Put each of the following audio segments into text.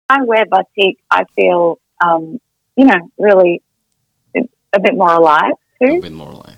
I wear batik, I feel, really a bit more alive A too. bit more alive.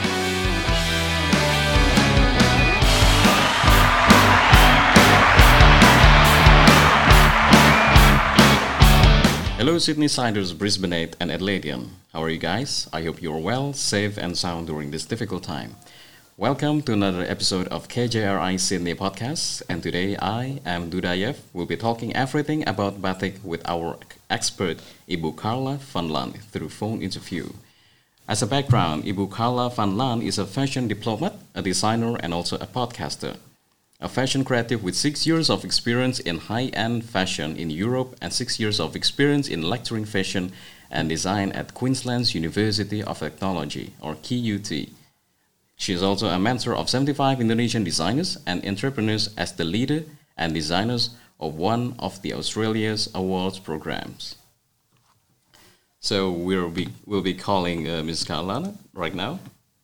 Hello, Sydney Siders, Brisbaneite, and Adelaidean. How are you guys? I hope you're well, safe, and sound during this difficult time. Welcome to another episode of KJRI Sydney Podcast, and today I am Dudayev. We'll be talking everything about batik with our expert, Ibu Carla van Laan, through phone interview. As a background, Ibu Carla van Laan is a fashion diplomat, a designer, and also a podcaster. A fashion creative with 6 years of experience in high-end fashion in Europe and 6 years of experience in lecturing fashion and design at Queensland's University of Technology, or QUT. She is also a mentor of 75 Indonesian designers and entrepreneurs as the leader and designers of one of the Australia's awards programs. So we'll be calling Ms. Carla right now.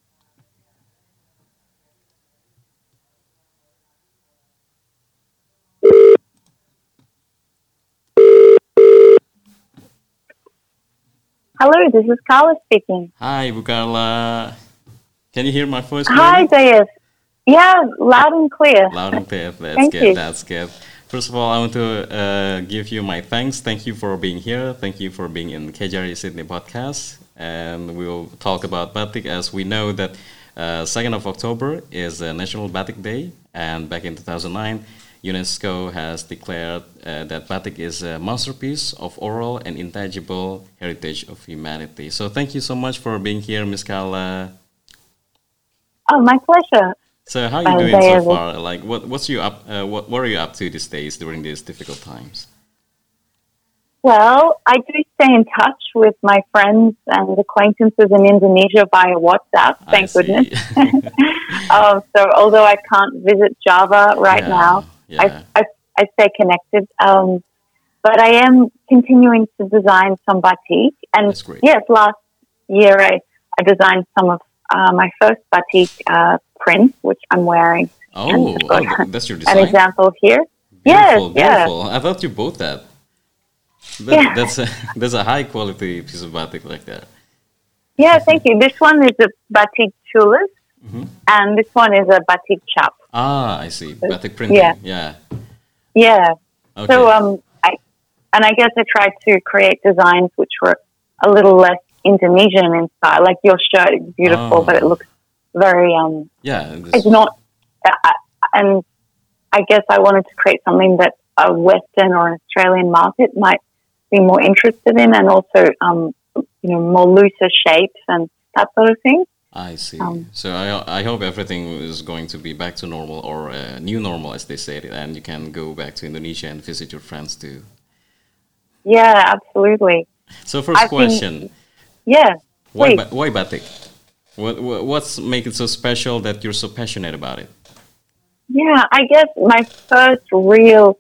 Hello, this is Carla speaking. Hi, Ibu Carla. Can you hear my voice Hi, clearly? Dayas. Yeah, loud and clear. Loud and clear. That's Thank good. you. That's good. First of all, I want to give you my thanks. Thank you for being here. Thank you for being in KJRI Sydney podcast. And we'll talk about batik, as we know that 2nd of October is National Batik Day. And back in 2009, UNESCO has declared that batik is a masterpiece of oral and intangible heritage of humanity. So thank you so much for being here, Ms. Carla. Oh, my pleasure. So how are you doing so Dayas. far? Like, what are you up to these days during these difficult times? Well, I do stay in touch with my friends and acquaintances in Indonesia via WhatsApp, I thank see. goodness. So although I can't visit Java right now, Yeah. I stay connected. But I am continuing to design some batik. And That's great. yes, last year I designed some of my first batik prints, which I'm wearing. Oh, And I've got that's your an design. example here. Beautiful, Yes, yeah. beautiful. I thought you bought that. Yeah. That's a high quality piece of batik like that. Yeah, thank you. This one is a batik tulis, Hmm. and this one is a batik chap. Ah, I see. Batik printing. Yeah. Yeah. Yeah. Okay. So I guess I tried to create designs which were a little less Indonesian in style. Like your shirt is beautiful, but it Oh. looks very Yeah. It's not. And I guess I wanted to create something that a Western or an Australian market might be more interested in, and also more looser shapes and that sort of thing. I see. Um, So I hope everything is going to be back to normal, or new normal, as they say it, and you can go back to Indonesia and visit your friends too. Yeah, absolutely. So first I've been- question. Yeah. Why, Please. why batik? What's make it so special that you're so passionate about it? Yeah, I guess my first real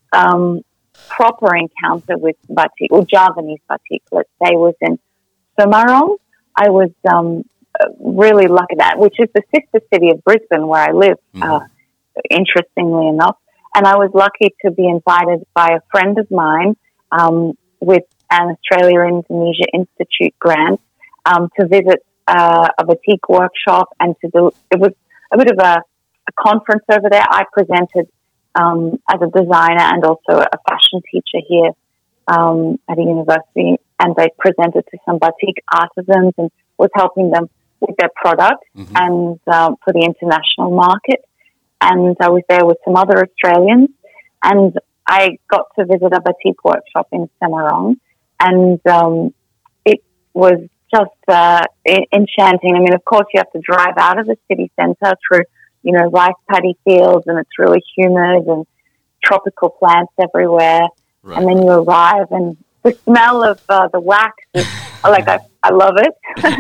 proper encounter with batik, or Javanese batik, let's say, was in Semarang. I was really lucky which is the sister city of Brisbane, where I live, interestingly enough. And I was lucky to be invited by a friend of mine with an Australia-Indonesia Institute grant to visit a batik workshop and to do. It was a bit of a conference over there. I presented as a designer and also a fashion teacher here at a university, and they presented to some batik artisans and was helping them with their product and for the international market. And I was there with some other Australians, and I got to visit a batik workshop in Semarang, and it was just enchanting. I mean, of course, you have to drive out of the city centre through, rice paddy fields, and it's really humid and tropical plants everywhere. Right. And then you arrive, and the smell of the wax is I love it.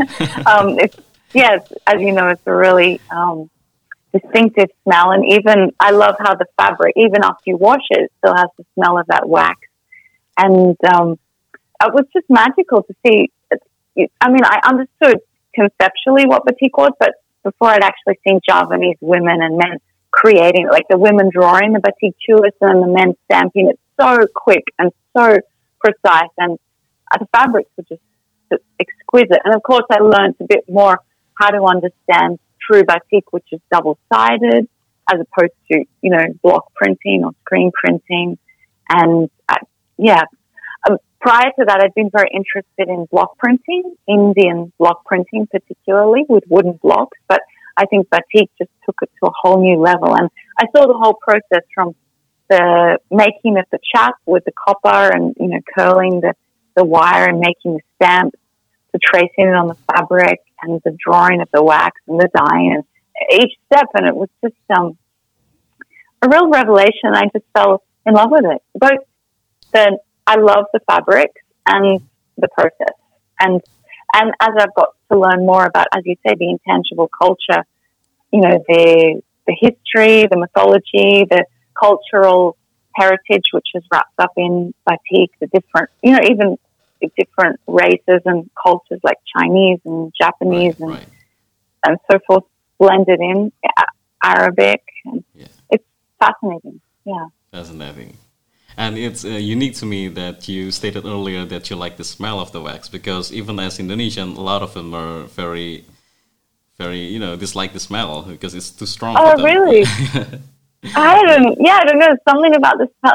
As you know, it's a really distinctive smell, and even I love how the fabric, even after you wash it, it still has the smell of that wax. And it was just magical to see. I mean, I understood conceptually what batik was, but before I'd actually seen Javanese women and men creating, like the women drawing the batik tulis and the men stamping it so quick and so precise, and the fabrics were just exquisite. And of course, I learned a bit more how to understand true batik, which is double-sided, as opposed to, block printing or screen printing. And prior to that, I'd been very interested in block printing, Indian block printing particularly, with wooden blocks. But I think batik just took it to a whole new level. And I saw the whole process from the making of the chap with the copper and, curling the wire and making the stamp, to tracing it on the fabric and the drawing of the wax and the dyeing and each step. And it was just a real revelation. I just fell in love with it. I love the fabrics and the process. And as I've got to learn more about, as you say, the intangible culture, the history, the mythology, the cultural heritage, which is wrapped up in batik, the different, even the different races and cultures like Chinese and Japanese and so forth blended in, Arabic. And it's fascinating. Yeah. Fascinating. And it's unique to me that you stated earlier that you like the smell of the wax, because even as Indonesian, a lot of them are very, very, dislike the smell because it's too strong for them. Really? I don't know. Something about the smell.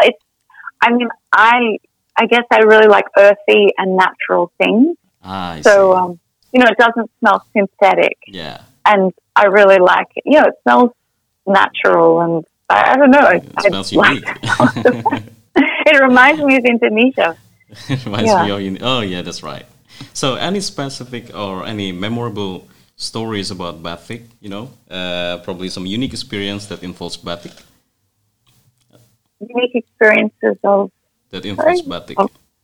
I guess I really like earthy and natural things. So, it doesn't smell synthetic. Yeah. And I really like it. It smells natural, and I don't know. It smells unique. It reminds me of Indonesia. It reminds me of oh, yeah, that's right. So any specific or any memorable stories about batik, probably some unique experience that involves batik? Unique experiences of... That involves batik.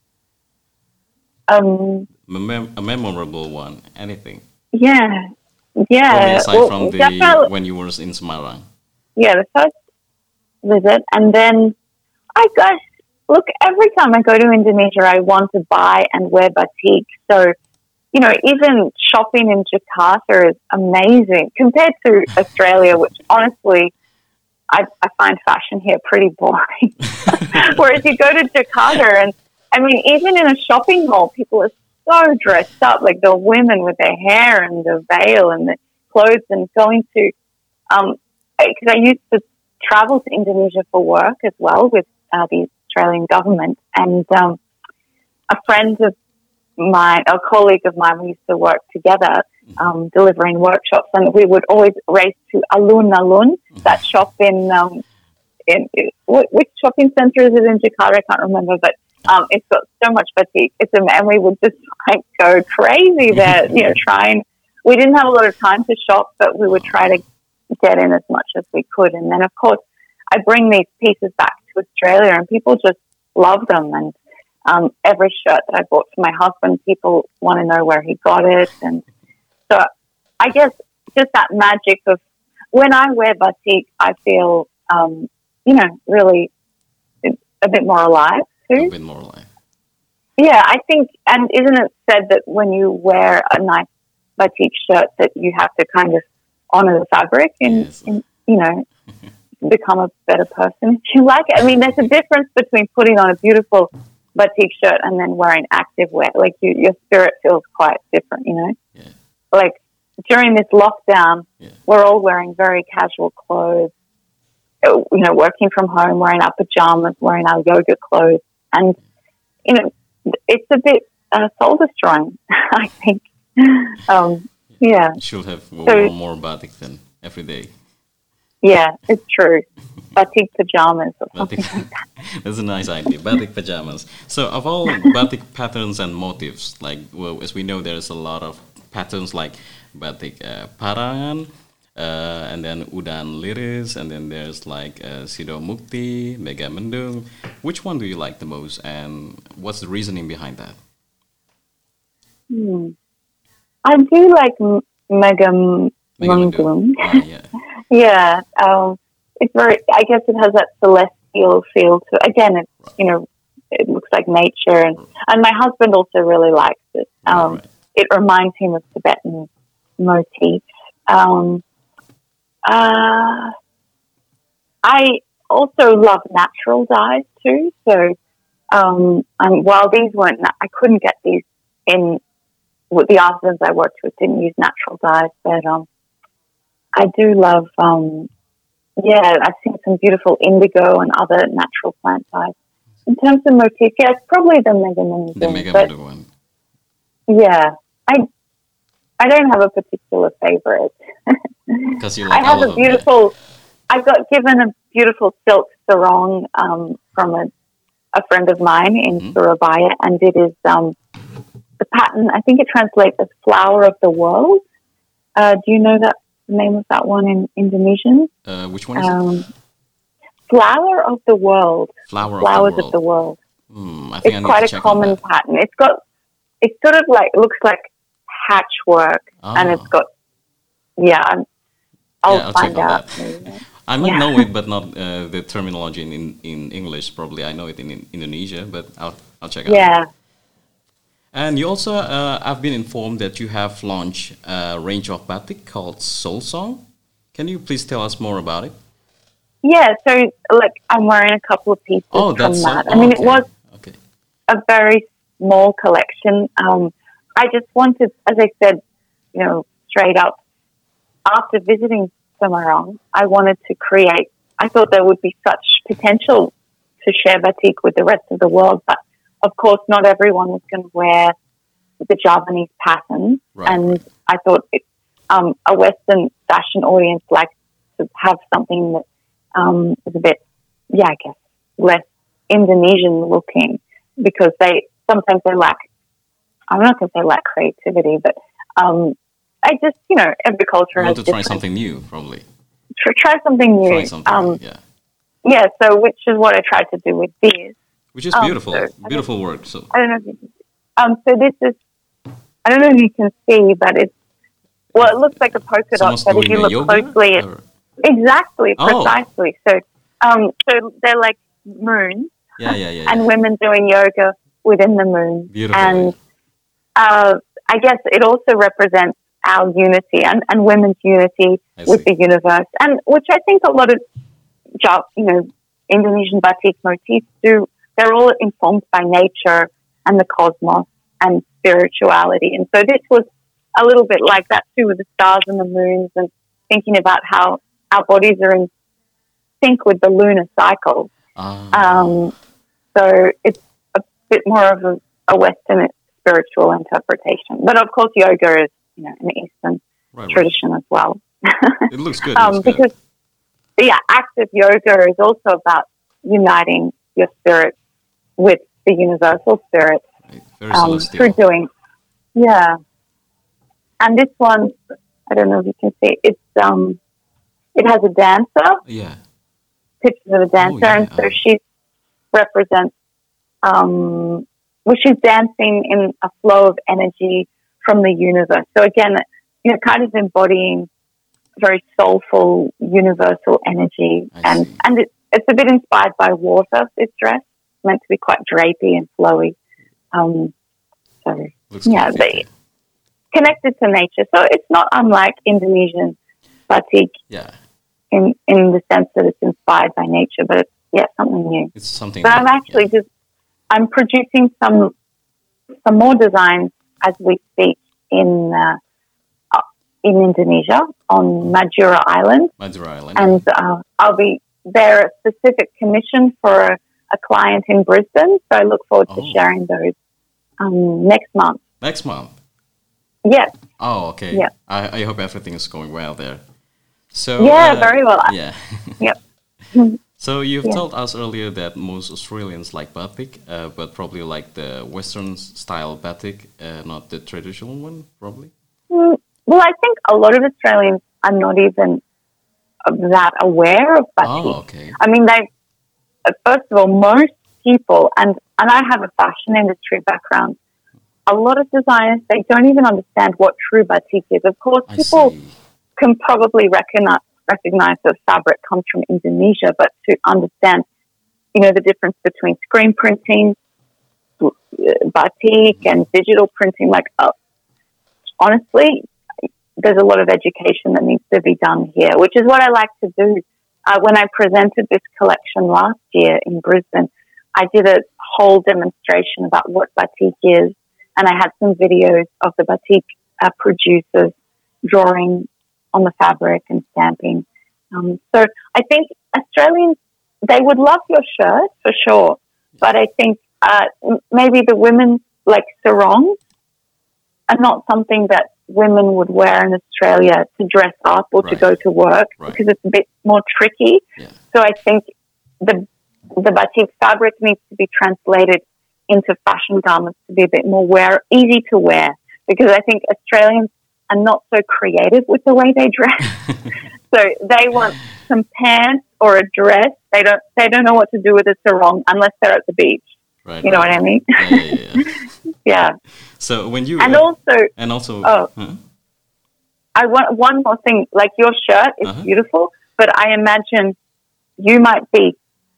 A memorable one, anything. Yeah. Probably aside from when you were in Semarang. Yeah, the first visit, and then I guess, look, every time I go to Indonesia, I want to buy and wear batik. So, even shopping in Jakarta is amazing compared to Australia, which honestly, I find fashion here pretty boring. Whereas you go to Jakarta and, even in a shopping mall, people are so dressed up, like the women with their hair and the veil and the clothes, and going to, because I used to travel to Indonesia for work as well with the Australian government, and a colleague of mine, we used to work together delivering workshops, and we would always race to Alun Alun, that shop in which shopping centre is it in Jakarta? I can't remember, but it's got so much batik. And we would just go crazy there, trying. We didn't have a lot of time to shop, but we would try to get in as much as we could. And then, of course, I bring these pieces back to Australia, and people just love them. And every shirt that I bought for my husband, people want to know where he got it. And so I guess just that magic of when I wear batik, I feel, really a bit more alive too. A bit more alive. Yeah, I think, and isn't it said that when you wear a nice batik shirt that you have to kind of honor the fabric and become a better person if you like it. There's a difference between putting on a beautiful batik shirt and then wearing active wear. Like your spirit feels quite different, Yeah. Like during this lockdown, we're all wearing very casual clothes, working from home, wearing our pajamas, wearing our yoga clothes. And, it's a bit soul destroying, I think. Yeah. You should have more batik then every day. Yeah, it's true. Batik pajamas or something like that. That's a nice idea. Batik pajamas. So of all batik patterns and motifs, as we know, there's a lot of patterns like batik Parangan, and then Udan Liris, and then there's Sido Mukti, Megamendung. Which one do you like the most, and what's the reasoning behind that? I do like Megamendung. Yeah. It's very, I guess it has that celestial feel to it. Again, it's, it looks like nature. And my husband also really likes it. It reminds him of Tibetan motifs. also love natural dyes too. So while these weren't, I couldn't get these in with the artisans I worked with. Didn't use natural dyes, but I do love. I've seen some beautiful indigo and other natural plant dyes. In terms of motif, yeah, it's probably the Megamini. The Megamini one. Yeah, I don't have a particular favorite. Because you like I have all a of them, beautiful. I got given a beautiful silk sarong from a friend of mine in Surabaya, and it is the pattern. I think it translates as "flower of the world." Do you know that the name of that one in Indonesian? Which one is it? Flower of the world. Flowers of the world. I think It's quite a common pattern. It's sort of like, it looks like patchwork, and it's got, I'll find out. I might know it, but not the terminology in English. Probably I know it in Indonesia, but I'll check out. Yeah. And you also, I've been informed that you have launched a range of batik called Soul Song. Can you please tell us more about it? Yeah, so I'm wearing a couple of pieces from that. It was a very small collection. I just wanted, as I said, straight up, after visiting Semarang, I wanted to create. I thought there would be such potential to share batik with the rest of the world, but of course, not everyone was going to wear the Javanese pattern, I thought a Western fashion audience likes to have something that is a bit, I guess, less Indonesian looking, because sometimes they lack. I'm not going to say lack creativity, but I just, every culture has to try something new, probably. Try something new. So which is what I tried to do with these. Which is beautiful, beautiful work. So I don't know if you can see. So this is, I don't know if you can see, but it looks like a polka dot, but if you look closely, exactly, precisely. So, so they're like moons, and women doing yoga within the moon. Beautiful. And I guess it also represents our unity and women's unity with the universe, and which I think a lot of Indonesian batik motifs do. They're all informed by nature and the cosmos and spirituality. And so this was a little bit like that too, with the stars and the moons, and thinking about how our bodies are in sync with the lunar cycle. So it's a bit more of a Western spiritual interpretation. But of course, yoga is an Eastern tradition as well. It looks good. Because active yoga is also about uniting your spirit with the universal spirit through doing. And this one, I don't know if you can see, it has a dancer. Pictures of a dancer, and so she represents. She's dancing in a flow of energy from the universe. So again, kind of embodying very soulful, universal energy, and it's a bit inspired by water. This dress meant to be quite drapey and flowy. They connected to nature. So it's not unlike Indonesian batik. In the sense that it's inspired by nature, but it's something new. It's something. But I'm actually I'm producing some more designs as we speak in Indonesia on Madura Island. And I'll be there a specific commission for a client in Brisbane. So I look forward to sharing those next month. Next month? Yes. Oh, okay. Yeah. I hope everything is going well there. So very well. Yeah. Yep. So you've told us earlier that most Australians like batik, but probably like the Western style batik, not the traditional one, probably? Well, I think a lot of Australians are not even that aware of batik. Oh, okay. I mean, first of all, most people, and I have a fashion industry background, a lot of designers, they don't even understand what true batik is. Of course, people can probably recognize the fabric comes from Indonesia, but to understand, the difference between screen printing, batik, and digital printing, honestly, there's a lot of education that needs to be done here, which is what I like to do. when I presented this collection last year in Brisbane, I did a whole demonstration about what batik is, and I had some videos of the batik producers drawing on the fabric and stamping. So I think Australians, they would love your shirt for sure, but I think maybe the women, like sarongs, are not something that women would wear in Australia to dress up or to go to work because it's a bit more tricky. Yeah. So I think the batik fabric needs to be translated into fashion garments to be a bit more easy to wear, because I think Australians are not so creative with the way they dress. So they want some pants or a dress. They don't know what to do with a sarong unless they're at the beach. Right. You know what I mean? Yeah. Yeah. So when you and also I want one more thing. Like, your shirt is beautiful, but I imagine you might be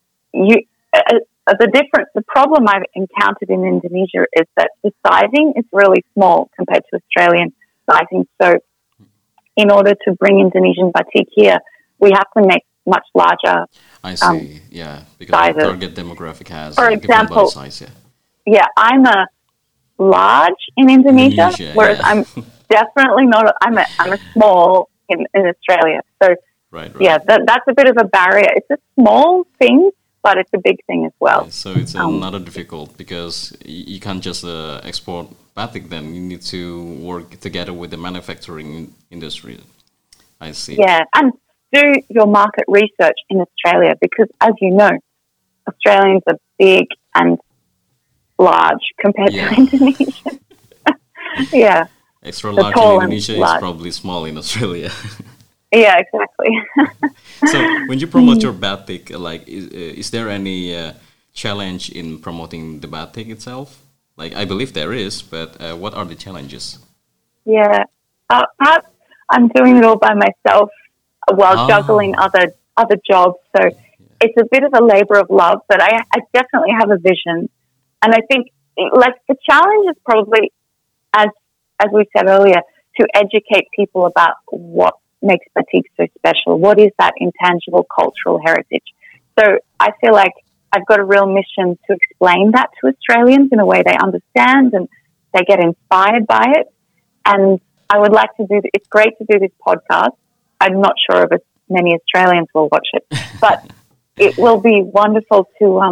the problem I've encountered in Indonesia is that the sizing is really small compared to Australian sizing. So in order to bring Indonesian batik here, we have to make much larger. I see. Because sizes. the target demographic has For a different body example, size. Yeah, I'm a large in Indonesia, whereas I'm definitely not. I'm a small in Australia. So yeah, that's a bit of a barrier. It's a small thing, but it's a big thing as well. So it's another difficult, because you can't just export batik. Then you need to work together with the manufacturing industry. I see. Yeah, and do your market research in Australia, because, as you know, Australians are big and large compared to Indonesia. Yeah. Extra large in Indonesia is probably small in Australia. Yeah, exactly. So when you promote your batik, like, is there any challenge in promoting the batik itself? Like, I believe there is, but what are the challenges? Yeah, perhaps I'm doing it all by myself while juggling other jobs. So it's a bit of a labor of love, but I definitely have a vision. And I think, like, the challenge is probably, as we said earlier, to educate people about what makes batik so special. What is that intangible cultural heritage? So I feel like I've got a real mission to explain that to Australians in a way they understand and they get inspired by it. And I would like to it's great to do this podcast. I'm not sure if many Australians will watch it, but it will be wonderful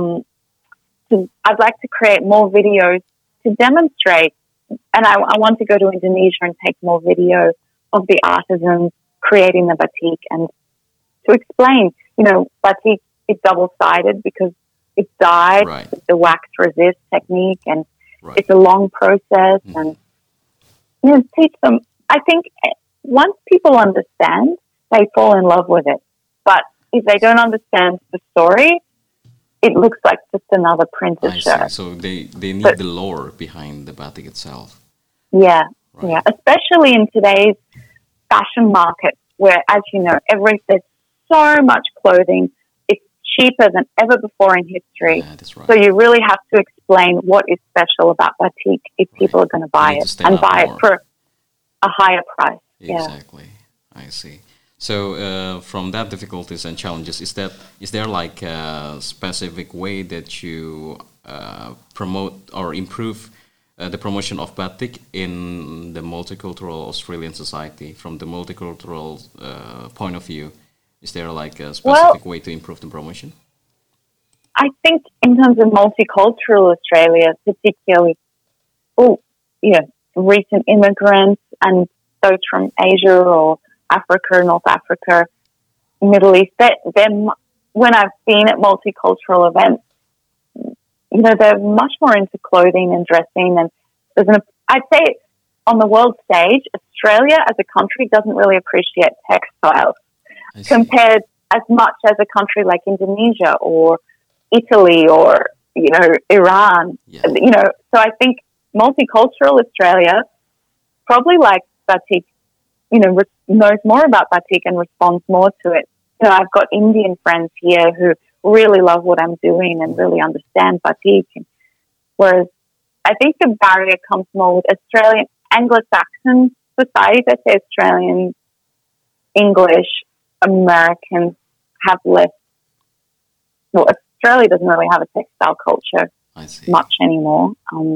I'd like to create more videos to demonstrate, and I want to go to Indonesia and take more video of the artisans creating the batik, and to explain, batik is double-sided because it's dyed with the wax resist technique, and it's a long process, and teach them. I think once people understand, they fall in love with it. But if they don't understand the story, it looks like just another printed shirt. So they need the lore behind the batik itself. Yeah, yeah. Especially in today's fashion market, where, as you know, there's so much clothing. It's cheaper than ever before in history. Yeah, that's right. So you really have to explain what is special about batik if people are going to buy it, and buy it for a higher price. Exactly. I see. So from that difficulties and challenges, is there like a specific way that you promote or improve the promotion of batik in the multicultural Australian society? From the multicultural point of view, is there like a specific way to improve the promotion? I think in terms of multicultural Australia, particularly, recent immigrants and those from Asia or Africa, North Africa, Middle East, when I've been at multicultural events, they're much more into clothing and dressing. And I'd say on the world stage, Australia as a country doesn't really appreciate textiles compared as much as a country like Indonesia or Italy or, Iran. Yeah. So I think multicultural Australia probably likes batik, knows more about batik and responds more to it. I've got Indian friends here who really love what I'm doing and really understand batik. Whereas I think the barrier comes more with Australian, Anglo-Saxon societies, I say Australian, English, American. have less. Well, Australia doesn't really have a textile culture I see. much anymore.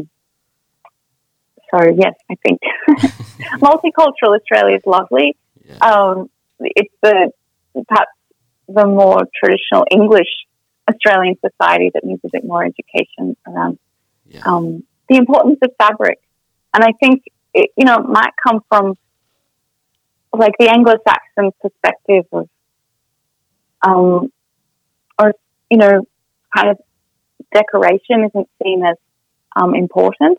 So yes, I think multicultural Australia is lovely. Yeah. It's perhaps the more traditional English Australian society that needs a bit more education around Yeah. the importance of fabric. And I think it might come from like the Anglo-Saxon perspective of, or kind of decoration isn't seen as important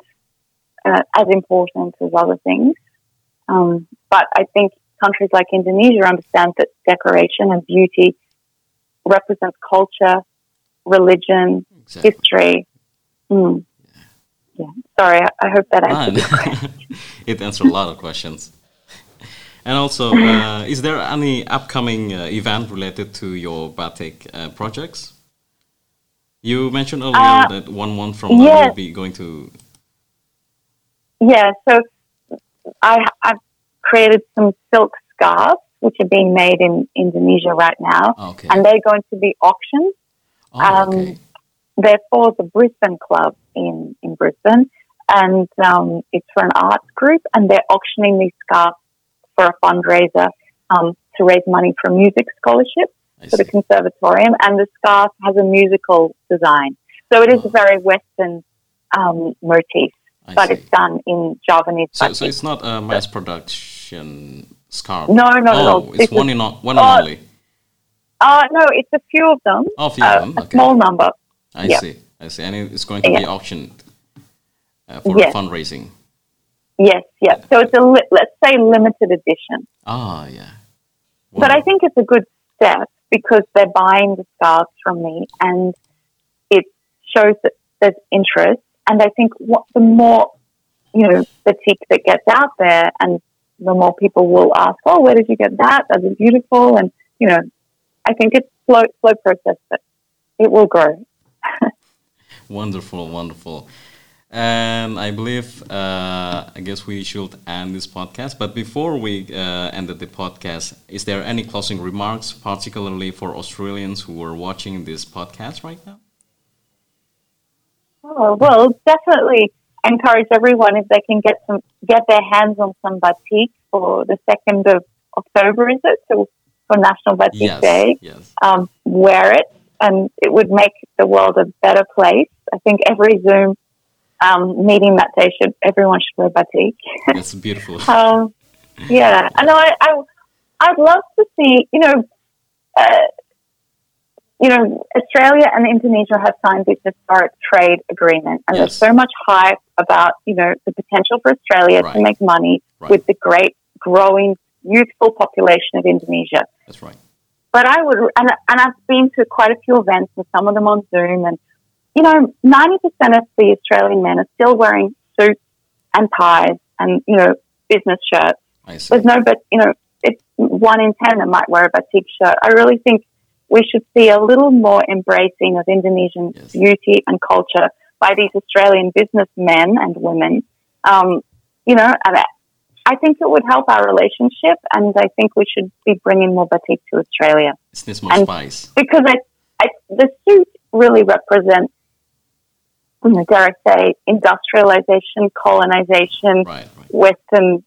as other things. But I think countries like Indonesia understand that decoration and beauty represents culture, religion, Exactly. history. Yeah. Sorry, I hope that answered your question. It answered a lot of questions. And also, is there any upcoming event related to your batik projects? You mentioned earlier that 1 month from now yes. you'll be going to. Yeah, so I've created some silk scarves, which are being made in Indonesia right now, Okay. and they're going to be auctioned. Oh, okay. They're for the Brisbane Club in Brisbane, and it's for an arts group, and they're auctioning these scarves for a fundraiser to raise money for a music scholarship for the conservatorium, and the scarf has a musical design. So it is a very Western motif, but it's done in Javanese batik. So it's not a mass production scarf? No, not at all. It's one and only? No, it's a few of them. Oh, a few of them? A Okay. small number. I see. And it's going to be auctioned for fundraising? Yes. So it's let's say limited edition. Ah, yeah. Wow. But I think it's a good step because they're buying the scarves from me, and it shows that there's interest. And I think the more, batik that gets out there, and the more people will ask, oh, where did you get that? That's beautiful. And, I think it's slow process, but it will grow. Wonderful, wonderful. And I believe, I guess we should end this podcast. But before we end the podcast, is there any closing remarks, particularly for Australians who are watching this podcast right now? Oh, well, definitely encourage everyone if they can get their hands on some batik for the 2nd of October, is it? So for National Batik Day. Yes. Wear it, and it would make the world a better place. I think every Zoom meeting that day everyone should wear batik. That's beautiful. Yeah, I know. I'd love to see. Australia and Indonesia have signed this historic trade agreement, and there's so much hype about the potential for Australia to make money with the great growing youthful population of Indonesia. That's right. But I would, and I've been to quite a few events, and some of them on Zoom, and 90% of the Australian men are still wearing suits and ties and business shirts. I see. There's no, but it's 1 in 10 that might wear a batik shirt. I really think we should see a little more embracing of Indonesian beauty and culture by these Australian businessmen and women. And I think it would help our relationship, and I think we should be bringing more batik to Australia. It needs more spice. Because the suit really represents, dare I say, industrialization, colonization, Western,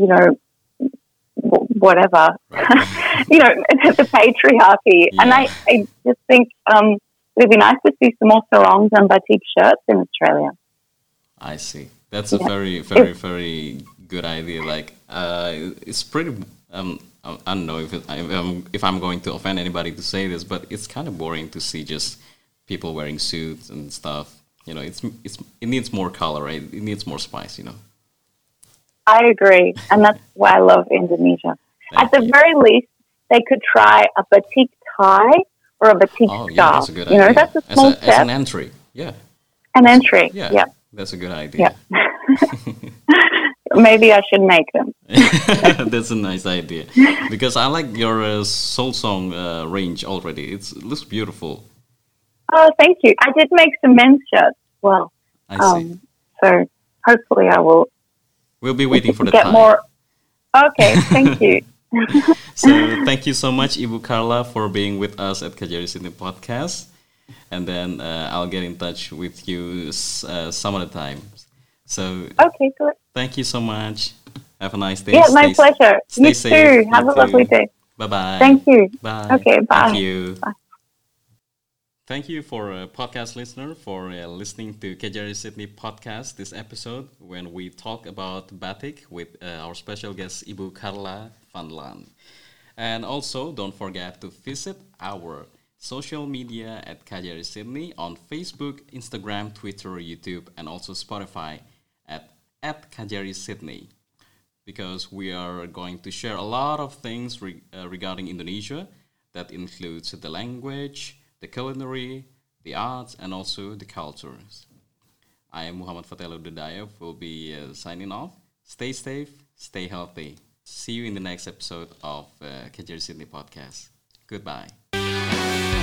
whatever, the patriarchy. Yeah. And I just think it would be nice to see some more sarongs and batik shirts in Australia. I see. That's a very, very, very good idea. Like, it's pretty. I don't know if I'm going to offend anybody to say this, but it's kind of boring to see just people wearing suits and stuff. It needs more color, right? It needs more spice. I agree, and that's why I love Indonesia. At the very least, they could try a batik tie or a batik scarf. Yeah, that's a good idea. That's a small step. As an entry, An entry, yeah. That's a good idea. Yeah. Maybe I should make them. That's a nice idea. Because I like your soul song range already. It looks beautiful. Oh, thank you. I did make some men's shirts as well. I see. So hopefully I will. We'll be waiting for the get time. More. Okay, thank you. So thank you so much, Ibu Carla, for being with us at Kajari Sydney Podcast. And then I'll get in touch with you some other time. So Okay, good. thank you so much. Have a nice day. Yeah, my pleasure. Stay You safe. too. You Have a lovely too. day. Bye bye. Thank you. Bye. Okay, Thank bye. you. Bye. Thank you for podcast listener for listening to KJRI Sydney podcast this episode when we talk about batik with our special guest Ibu Carla Vanlan. And also don't forget to visit our social media at KJRI Sydney on Facebook, Instagram, Twitter, YouTube, and also Spotify at KJRI Sydney because we are going to share a lot of things regarding Indonesia that includes the language, the culinary, the arts, and also the cultures. I am Muhammad Fatelo Dudayev, will be signing off. Stay safe, stay healthy. See you in the next episode of KJR Sydney Podcast. Goodbye.